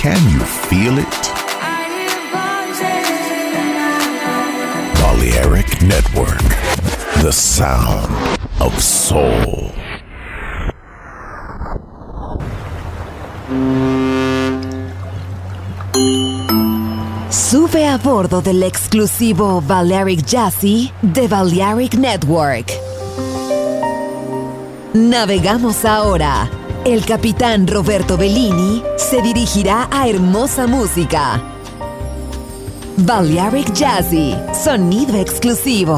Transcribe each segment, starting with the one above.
Can you feel it? Balearic Network, the sound of soul. Sube a bordo del exclusivo Balearic Jazzy de Balearic Network. Navegamos ahora. El capitán Roberto Bellini se dirigirá a hermosa música. Balearic Jazzy, sonido exclusivo.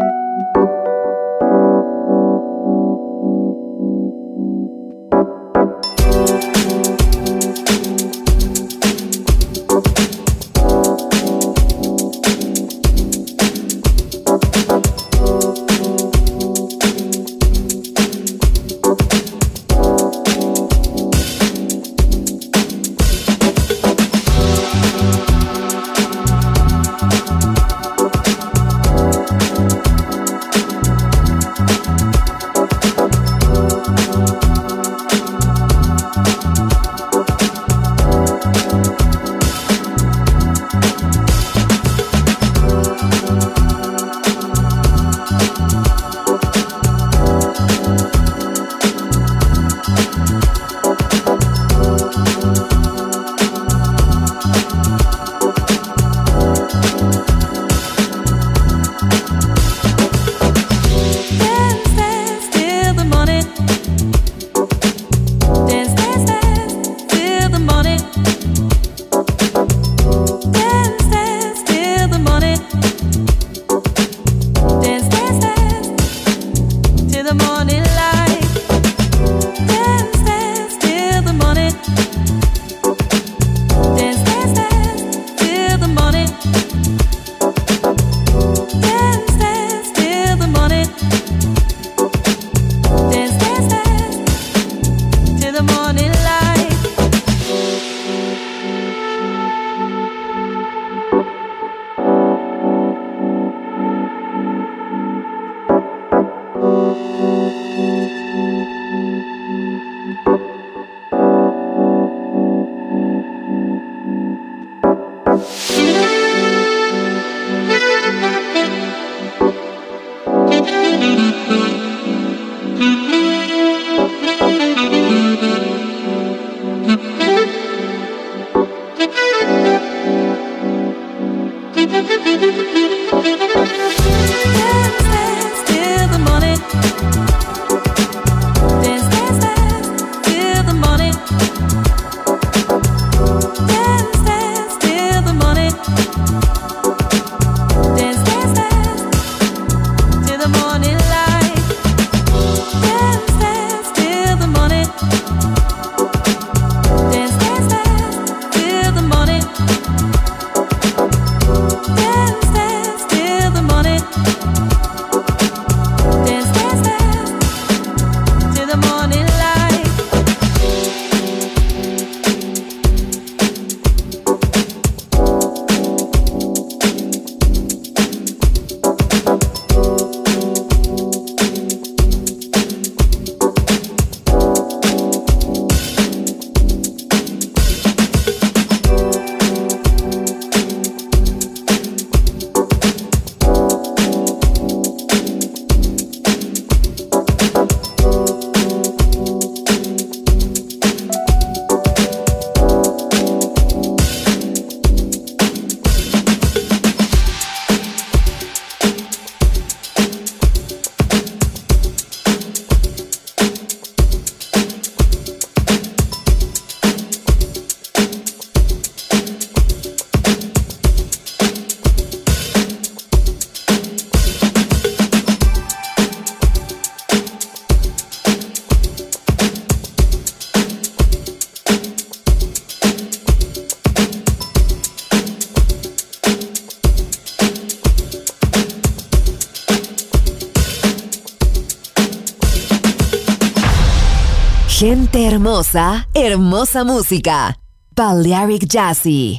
Gente hermosa, hermosa música. Balearic Jazzy.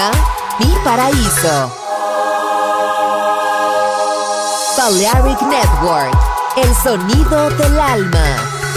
música, mi paraíso. Balearic Network, el sonido del alma.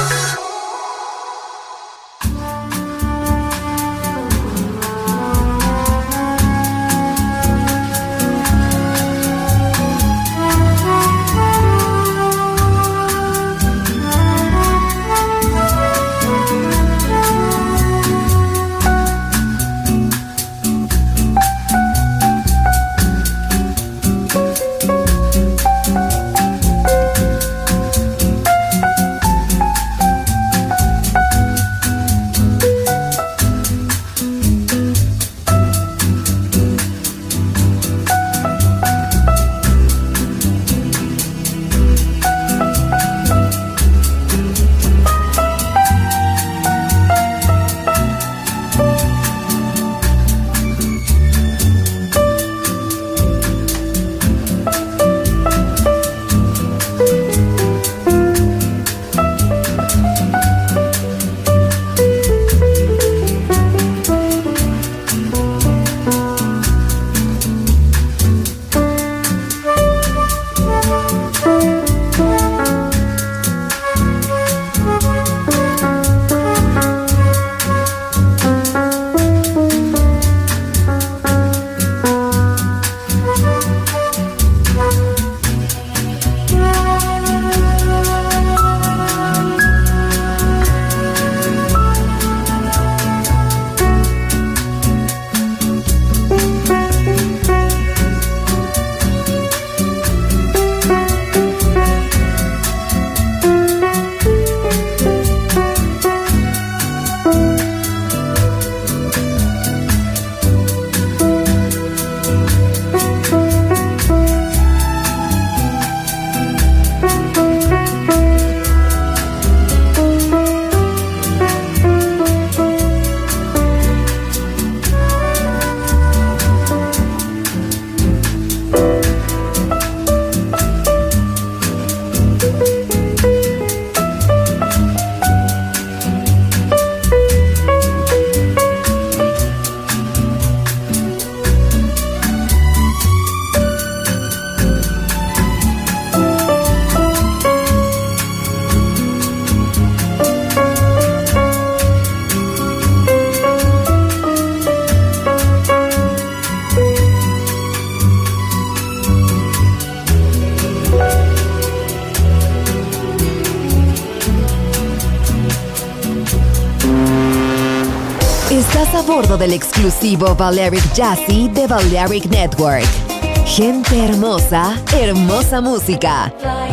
Estás a bordo del exclusivo Balearic Jazzy de Balearic Network. Gente hermosa, hermosa música.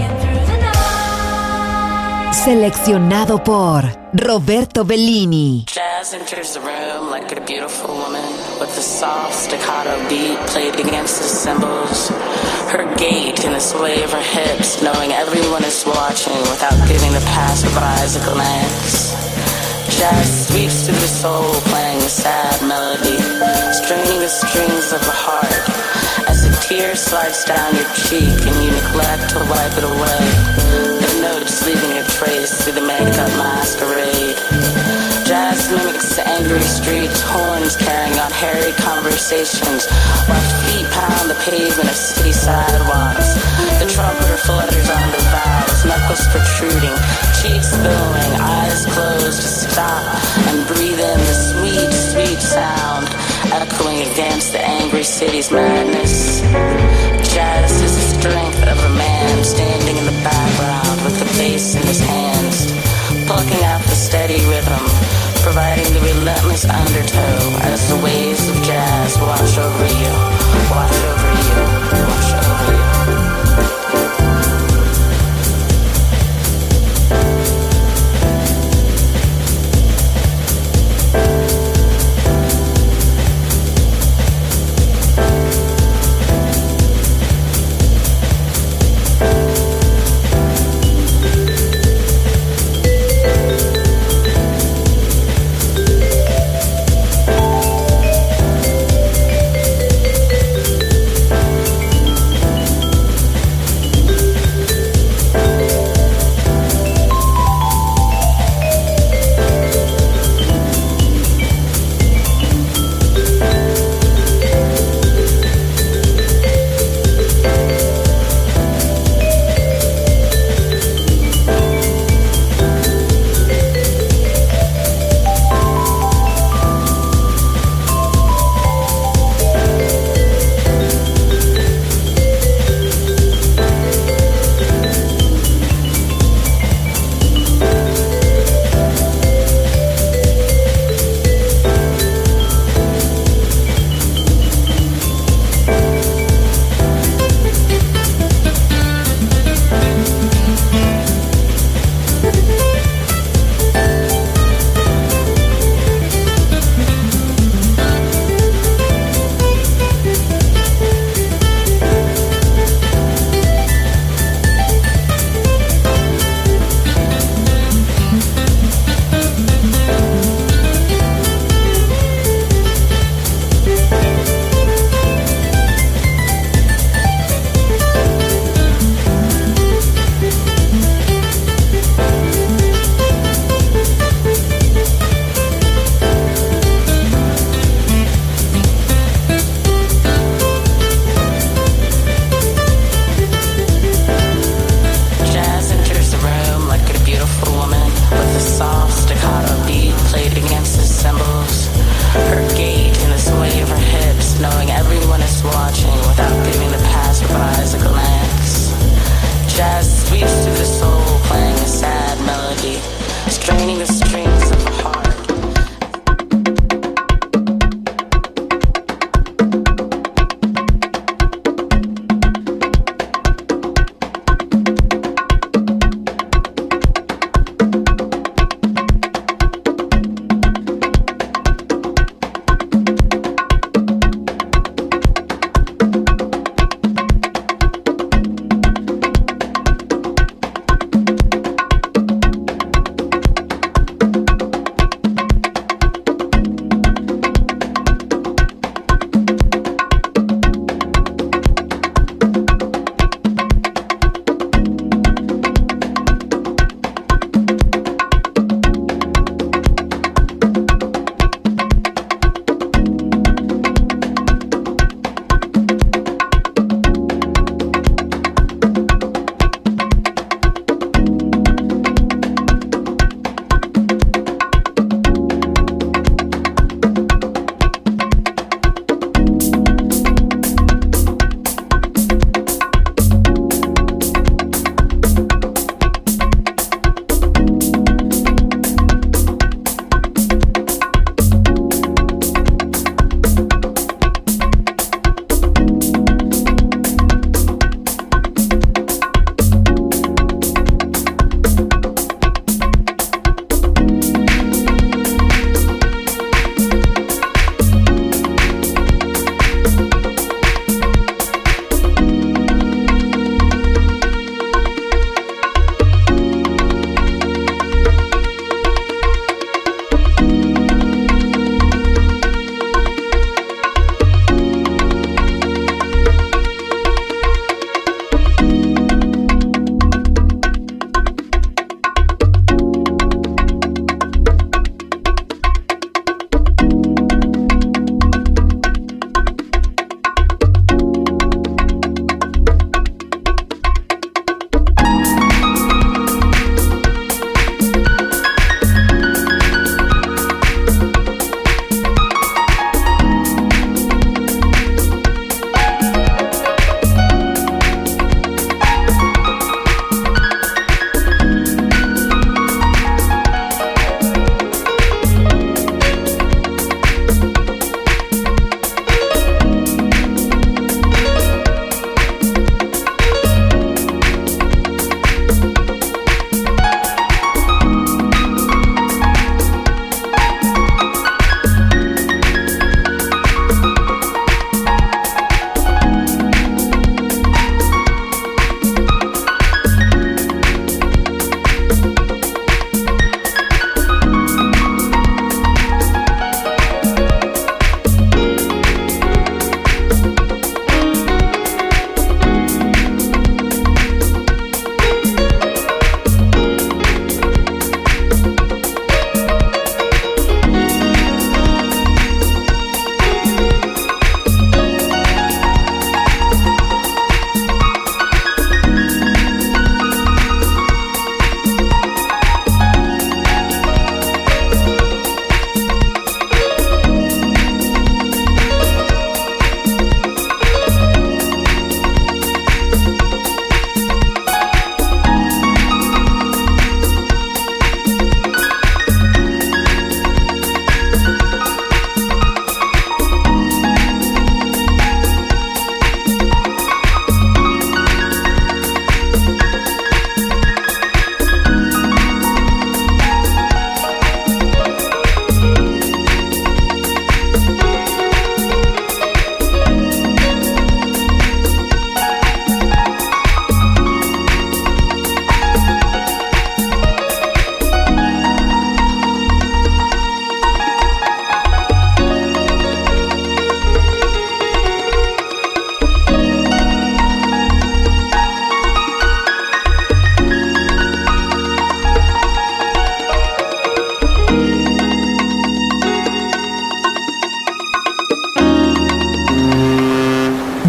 Seleccionado por Roberto Bellini. Jazz enters the room like a beautiful woman with a soft staccato beat played against the cymbals. Her gait and the sway of her hips, knowing everyone is watching without giving the passerbys a glance. Jazz sweeps through the soul, playing a sad melody, straining the strings of the heart. As a tear slides down your cheek and you neglect to wipe it away, the notes leaving a trace through the makeup masquerade. Jazz mimics the angry streets, horns carrying on hairy conversations, while feet pound the pavement of city sidewalks. The trumpeter flutters on the valves, knuckles protruding, cheeks billowing, eyes closed to stop and breathe in the sweet, sweet sound, echoing against the angry city's madness. Jazz is the strength of a man standing in the background with the bass in his hands, plucking out the steady rhythm, providing the relentless undertow as the waves of jazz wash over you, wash over you, wash over you.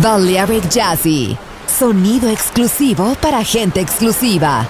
Balearic Jazzy. Sonido exclusivo para gente exclusiva.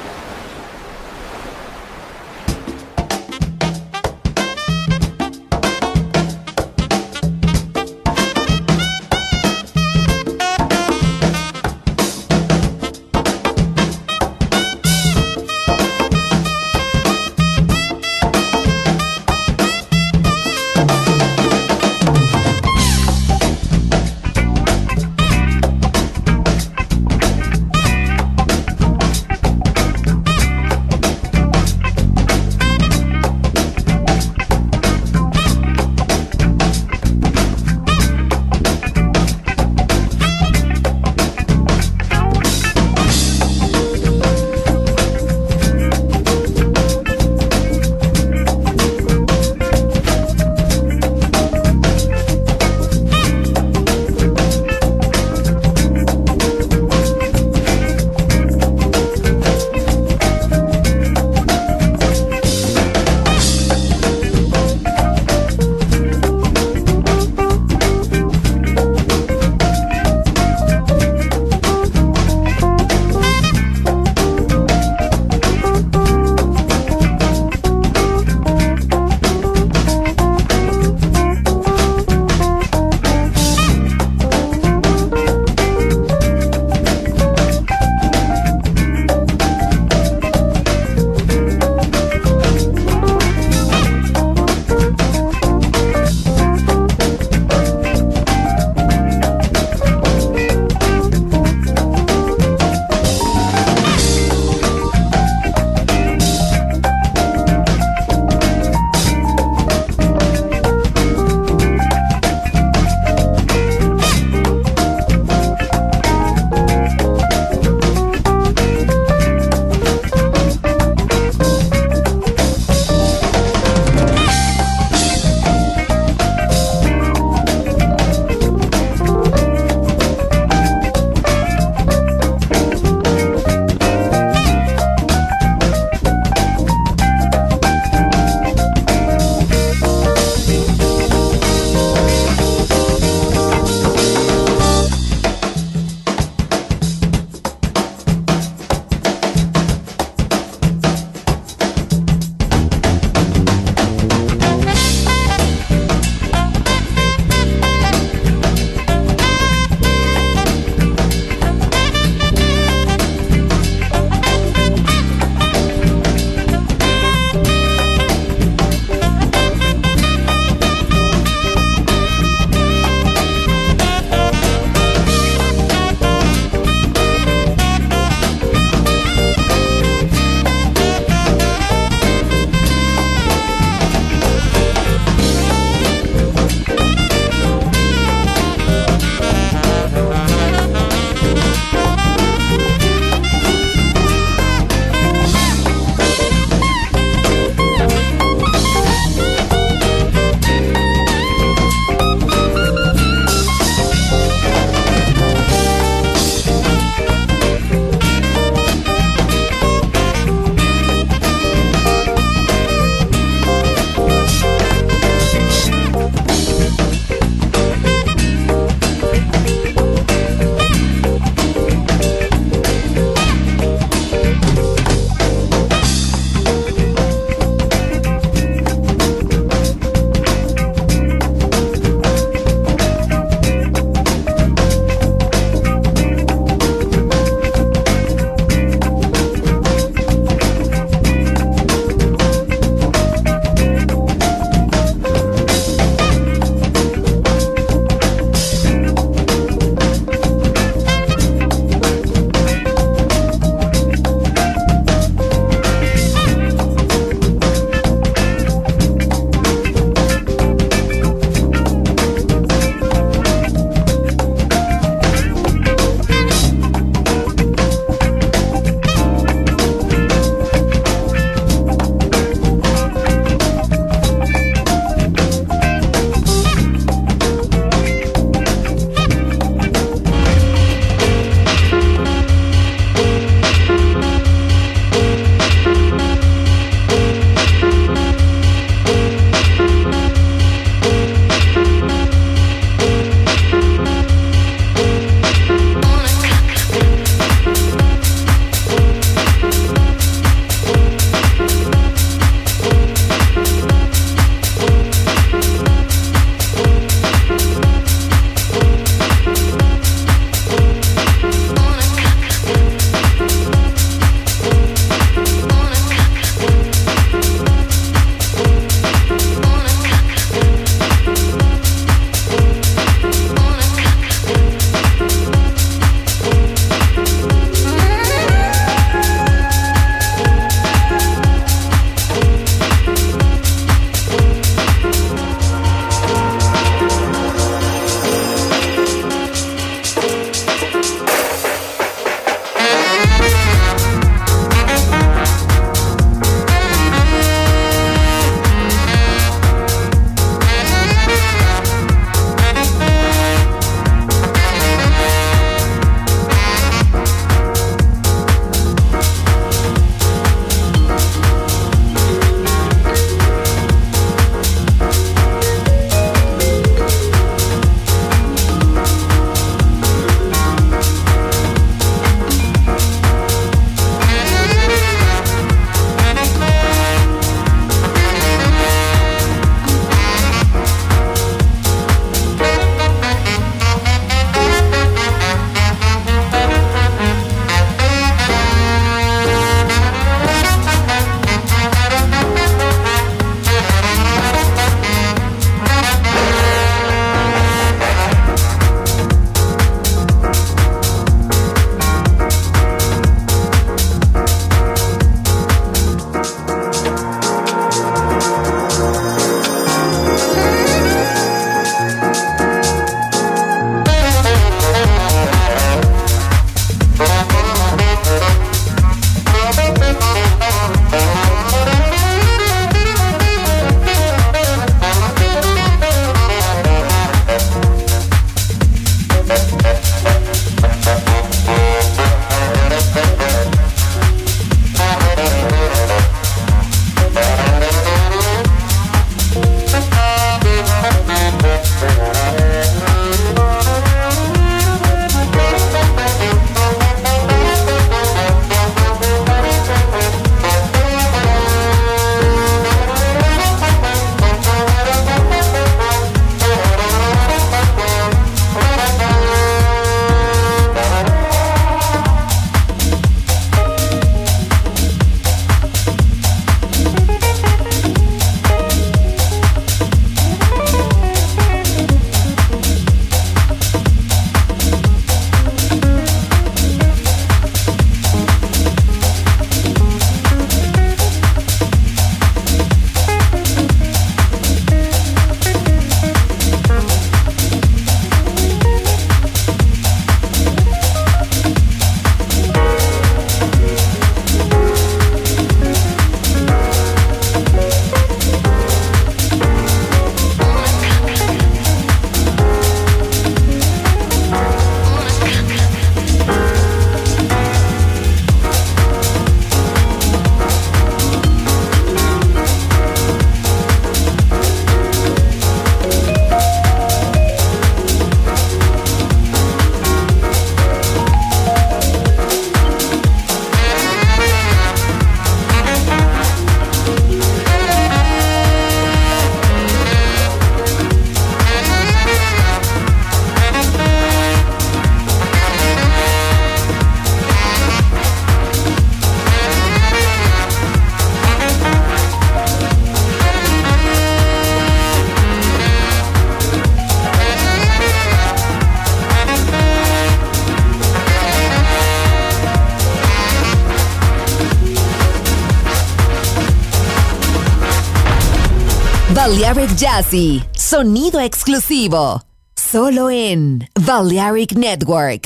Balearic Jazzy, sonido exclusivo, solo en Balearic Network.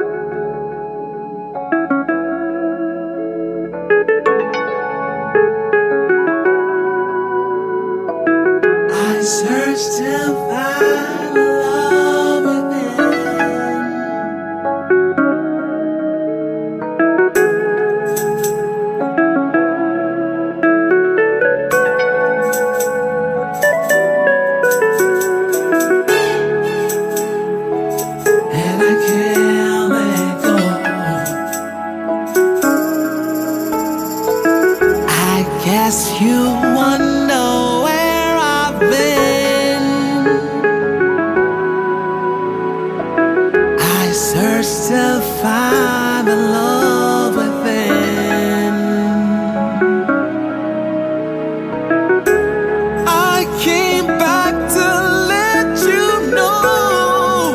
I searched to find love within. And I can't let go. I guess you wonder where I've been. I searched to find the love within. I came back to let you know.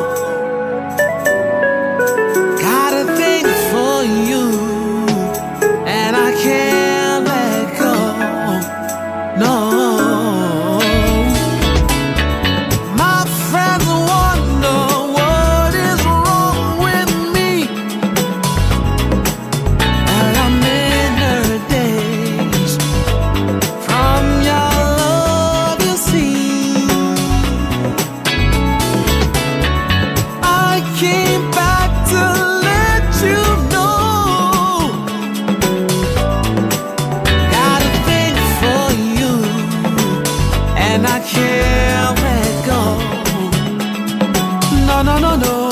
Got a thing for you, and I can't let go. No, my friends wonder what is wrong with me. And I'm in her days from your love, you see. I came back to let you know. Got a thing for you, and I can't let go. No, no, no, no.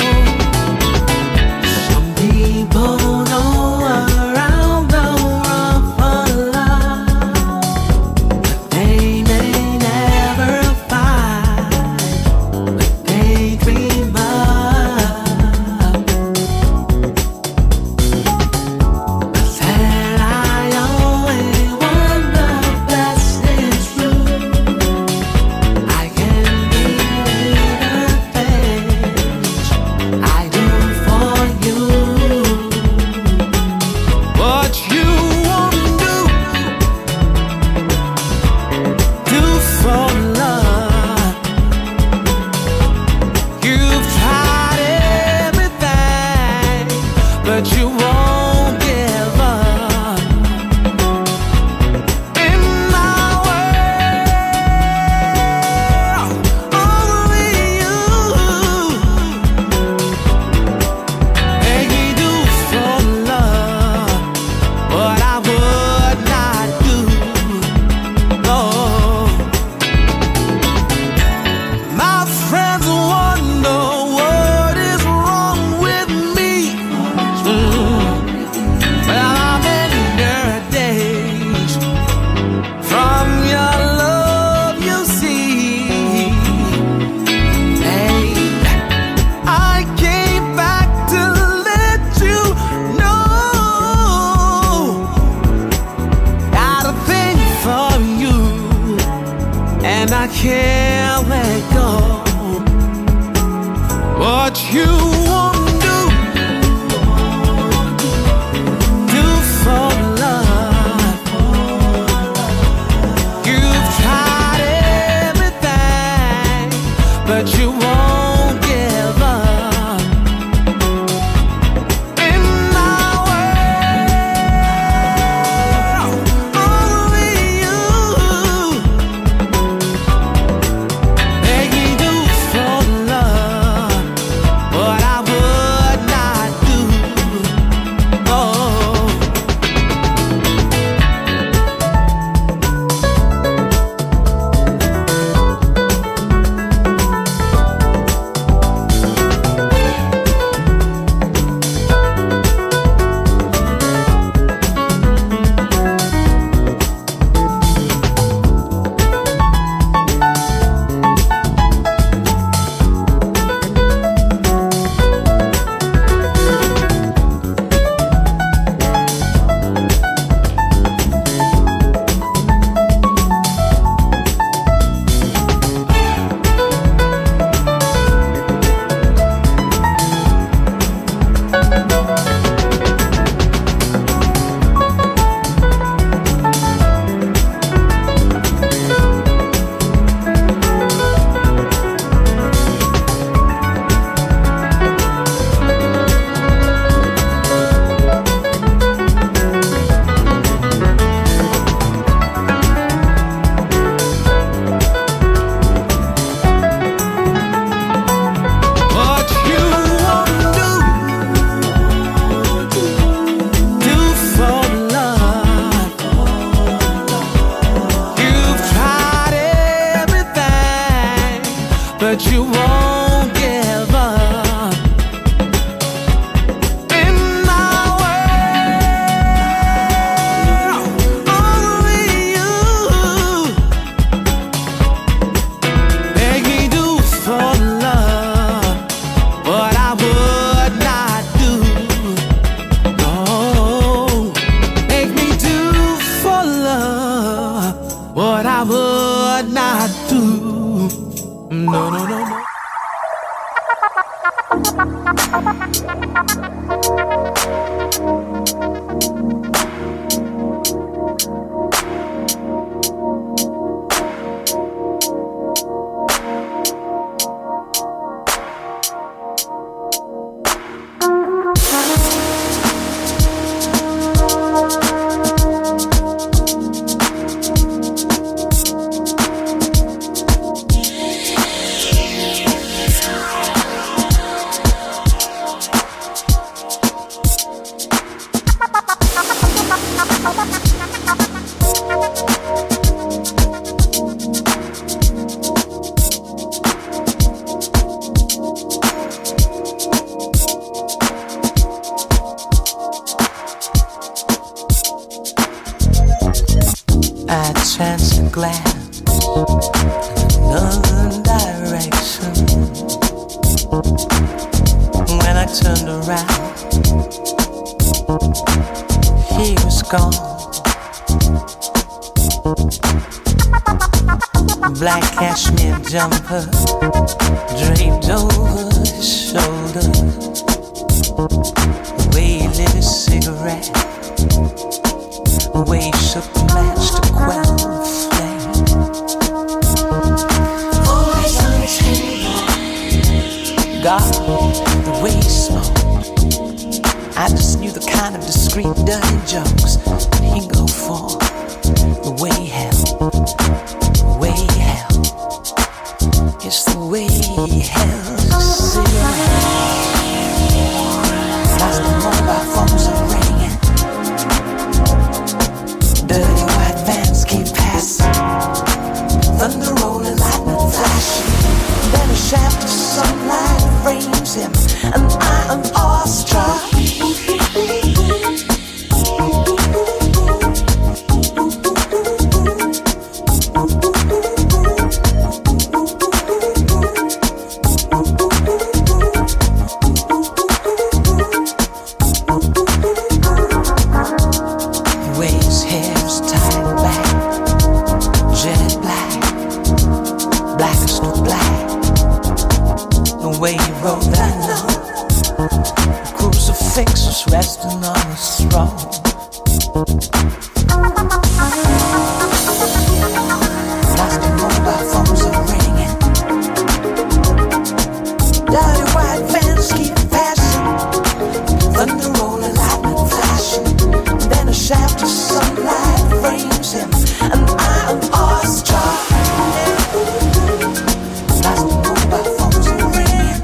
Some people know around the world for love, but they may never find what they dream of. But then I always want the best is true. I can be the things I do for you. What you won't do for love. You've tried everything, but you won't give up. In my world, only you make me do for love what I would not do. No, my friends wonder what is wrong with me. Well, I'm in your days from your love, you see. Hey, I came back to let you know. Got a thing for you, and I can't let go. What you won't do for love. You've tried everything, but you won't give up. In my world, only you Jumper draped over his shoulder, the way he lit his cigarette, the way he shook the match to quell the flame. Always on his table, God, the way he smoked, I just knew the kind of discreet, dirty jokes that he'd go for, the way he held, the way he held. It's the way he held a cigarette. As the mobile phones are ringing, dirty white vans keep passing, thunder rolling, lightning flashing. Then a shaft of sunlight frames him, and I am awestruck. Resting on his throne. As the mobile phones are ringing, dirty white vans keep passing, thunder rolling, lightning flashing. Then a shaft of sunlight frames him, and I am awestruck. As the mobile phones are ringing,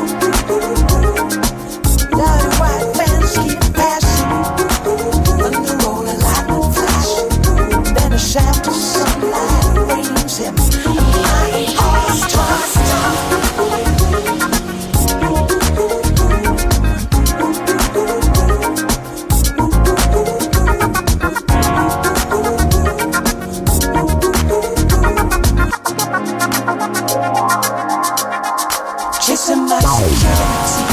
dirty white vans keep passing, thunder rolling, lightning flashing. Then a shaft of sunlight frames him, and I am awestruck. Chasing my security,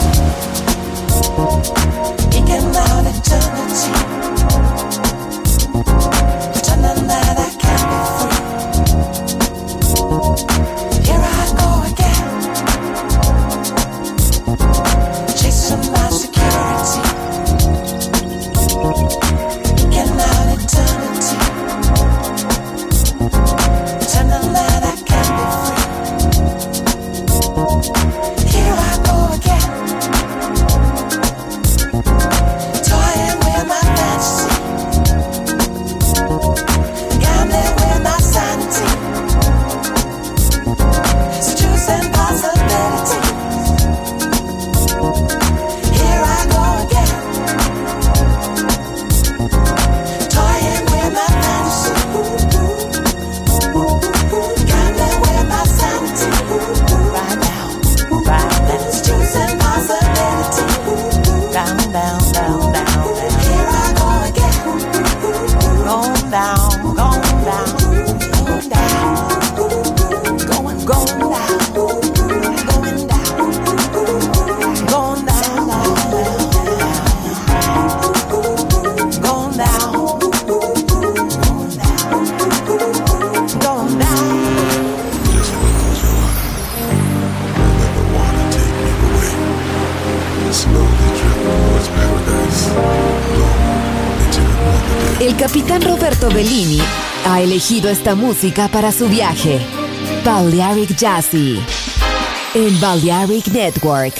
eking out eternity, pretending that I can't be free. Here I go again, chasing my security, eking out eternity, pretending that I can't be free. Here I go again, toying with my fantasy, gambling with my sanity, seducing possibilities. Here I go again, toying with my fantasy, gambling with my sanity. Right now, seducing possibility. Down, down, down, down, down. Here I go again, going down, going down, going down, going down, going down, going down, going down, going down, going down. Just close your eyes. Let the water take you away. El capitán Roberto Bellini ha elegido esta música para su viaje. Balearic Jazzy en Balearic Network.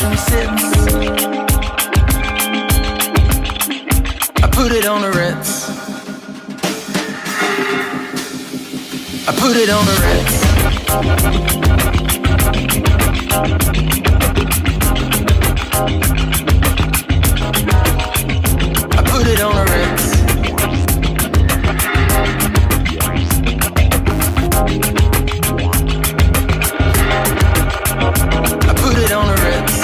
bathroom sits. I put it on the Ritz. I put it on the Ritz. I put it on the Ritz. I put it on the Ritz.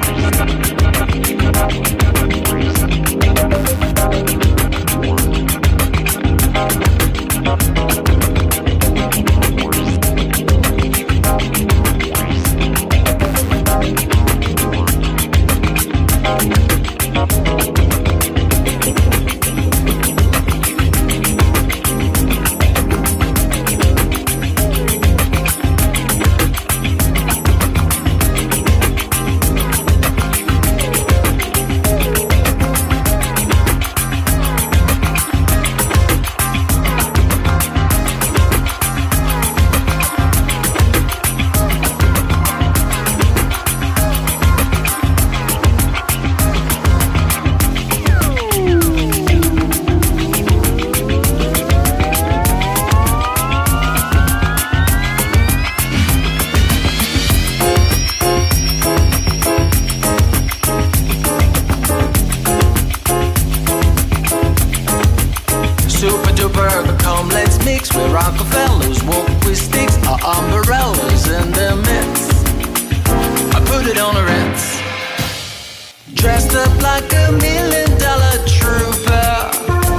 Rockefellers walk with sticks or umbrellas in their midst. I put it on the Ritz. Dressed up like $1 million trooper.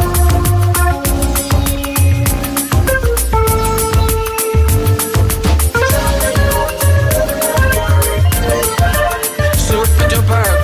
Super duper.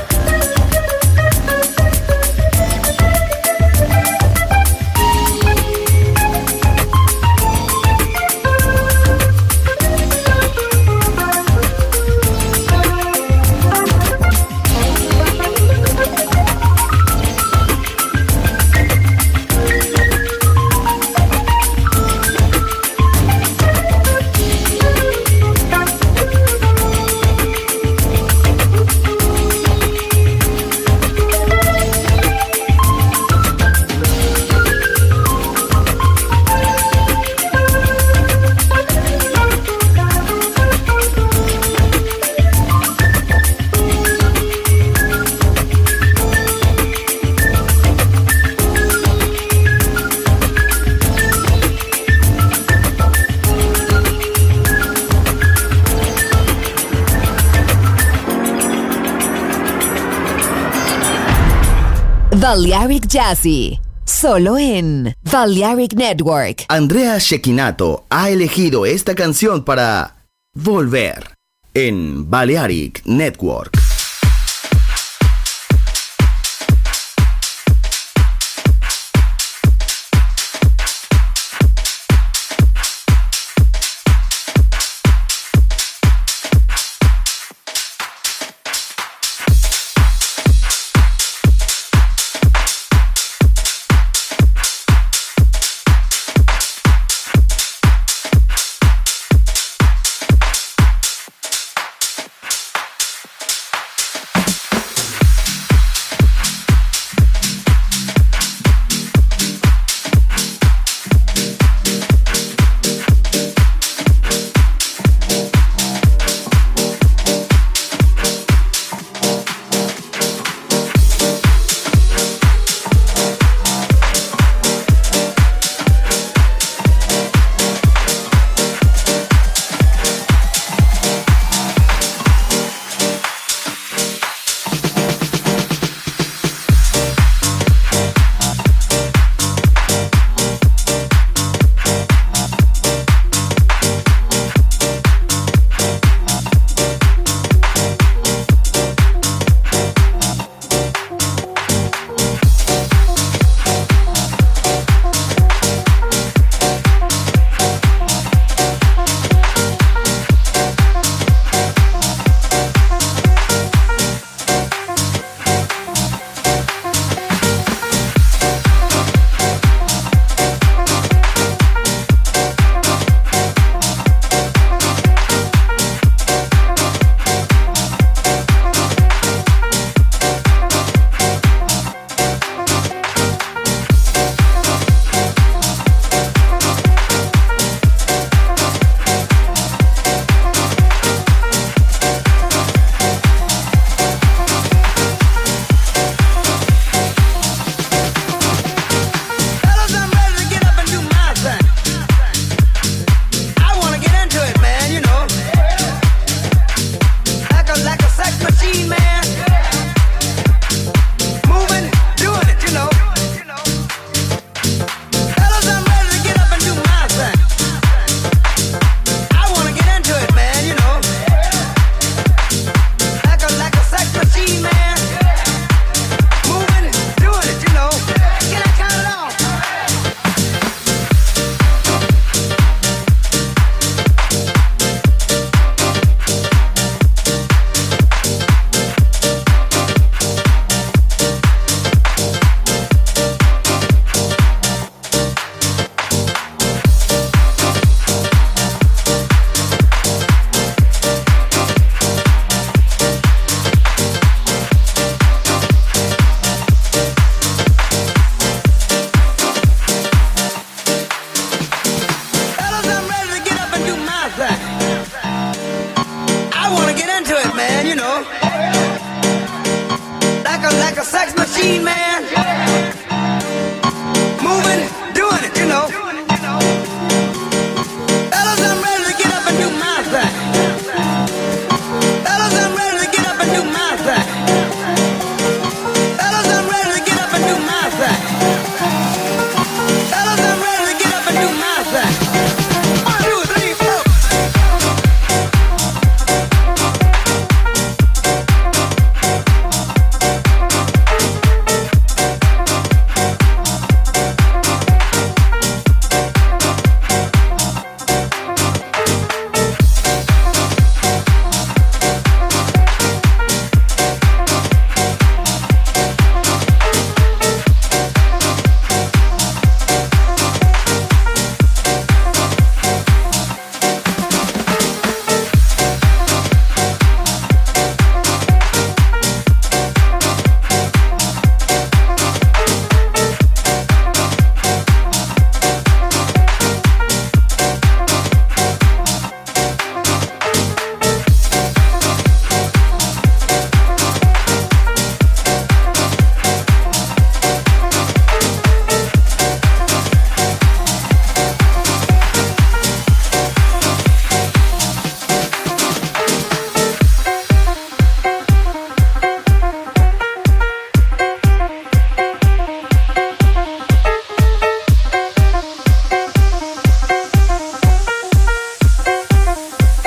Balearic Jazzy, solo en Balearic Network. Andrea Cecchinato ha elegido esta canción para volver en Balearic Network.